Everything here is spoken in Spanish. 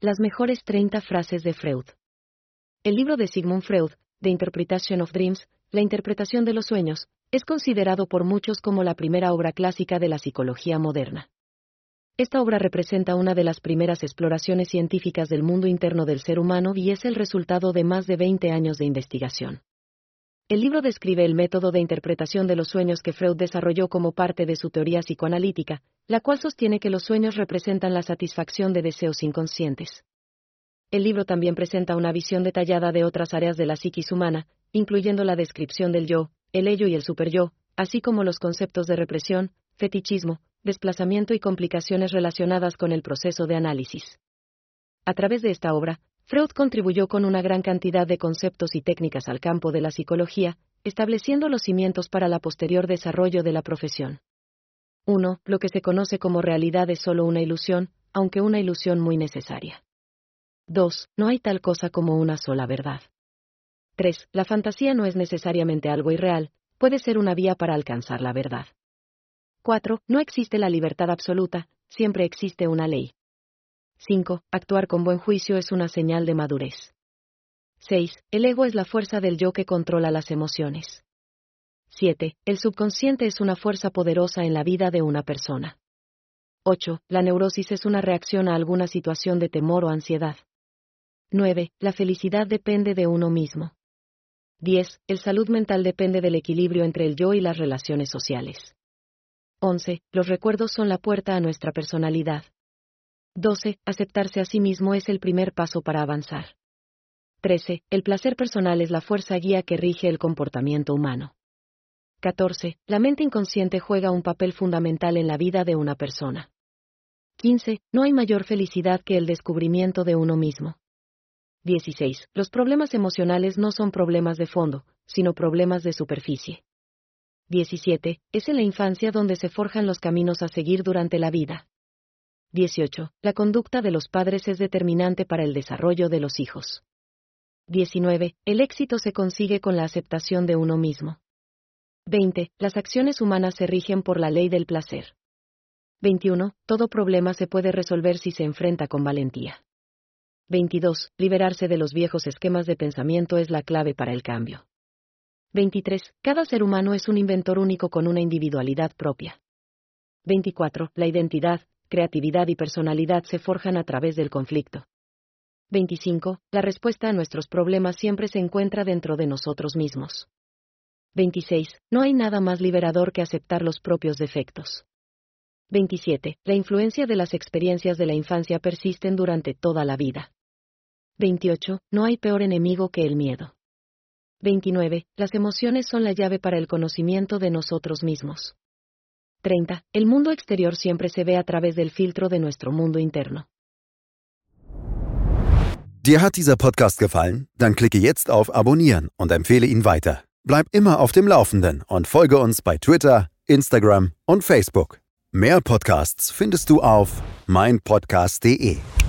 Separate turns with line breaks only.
Las mejores 30 frases de Freud. El libro de Sigmund Freud, The Interpretation of Dreams, La interpretación de los sueños, es considerado por muchos como la primera obra clásica de la psicología moderna. Esta obra representa una de las primeras exploraciones científicas del mundo interno del ser humano y es el resultado de más de 20 años de investigación. El libro describe el método de interpretación de los sueños que Freud desarrolló como parte de su teoría psicoanalítica, la cual sostiene que los sueños representan la satisfacción de deseos inconscientes. El libro también presenta una visión detallada de otras áreas de la psiquis humana, incluyendo la descripción del yo, el ello y el superyo, así como los conceptos de represión, fetichismo, desplazamiento y complicaciones relacionadas con el proceso de análisis. A través de esta obra, Freud contribuyó con una gran cantidad de conceptos y técnicas al campo de la psicología, estableciendo los cimientos para la posterior desarrollo de la profesión. 1. Lo que se conoce como realidad es solo una ilusión, aunque una ilusión muy necesaria. 2. No hay tal cosa como una sola verdad. 3. La fantasía no es necesariamente algo irreal, puede ser una vía para alcanzar la verdad. 4. No existe la libertad absoluta, siempre existe una ley. 5. Actuar con buen juicio es una señal de madurez. 6. El ego es la fuerza del yo que controla las emociones. 7. El subconsciente es una fuerza poderosa en la vida de una persona. 8. La neurosis es una reacción a alguna situación de temor o ansiedad. 9. La felicidad depende de uno mismo. 10. El salud mental depende del equilibrio entre el yo y las relaciones sociales. 11. Los recuerdos son la puerta a nuestra personalidad. 12. Aceptarse a sí mismo es el primer paso para avanzar. 13. El placer personal es la fuerza guía que rige el comportamiento humano. 14. La mente inconsciente juega un papel fundamental en la vida de una persona. 15. No hay mayor felicidad que el descubrimiento de uno mismo. 16. Los problemas emocionales no son problemas de fondo, sino problemas de superficie. 17. Es en la infancia donde se forjan los caminos a seguir durante la vida. 18. La conducta de los padres es determinante para el desarrollo de los hijos. 19. El éxito se consigue con la aceptación de uno mismo. 20. Las acciones humanas se rigen por la ley del placer. 21. Todo problema se puede resolver si se enfrenta con valentía. 22. Liberarse de los viejos esquemas de pensamiento es la clave para el cambio. 23. Cada ser humano es un inventor único con una individualidad propia. 24. La identidad, creatividad y personalidad se forjan a través del conflicto. 25. La respuesta a nuestros problemas siempre se encuentra dentro de nosotros mismos. 26. No hay nada más liberador que aceptar los propios defectos. 27. La influencia de las experiencias de la infancia persisten durante toda la vida. 28. No hay peor enemigo que el miedo. 29. Las emociones son la llave para el conocimiento de nosotros mismos. 30. El mundo exterior siempre se ve a través del filtro de nuestro mundo interno.
Dir hat dieser Podcast gefallen? Dann klicke jetzt auf Abonnieren und empfehle ihn weiter. Bleib immer auf dem Laufenden und folge uns bei Twitter, Instagram und Facebook. Mehr Podcasts findest du auf meinpodcast.de.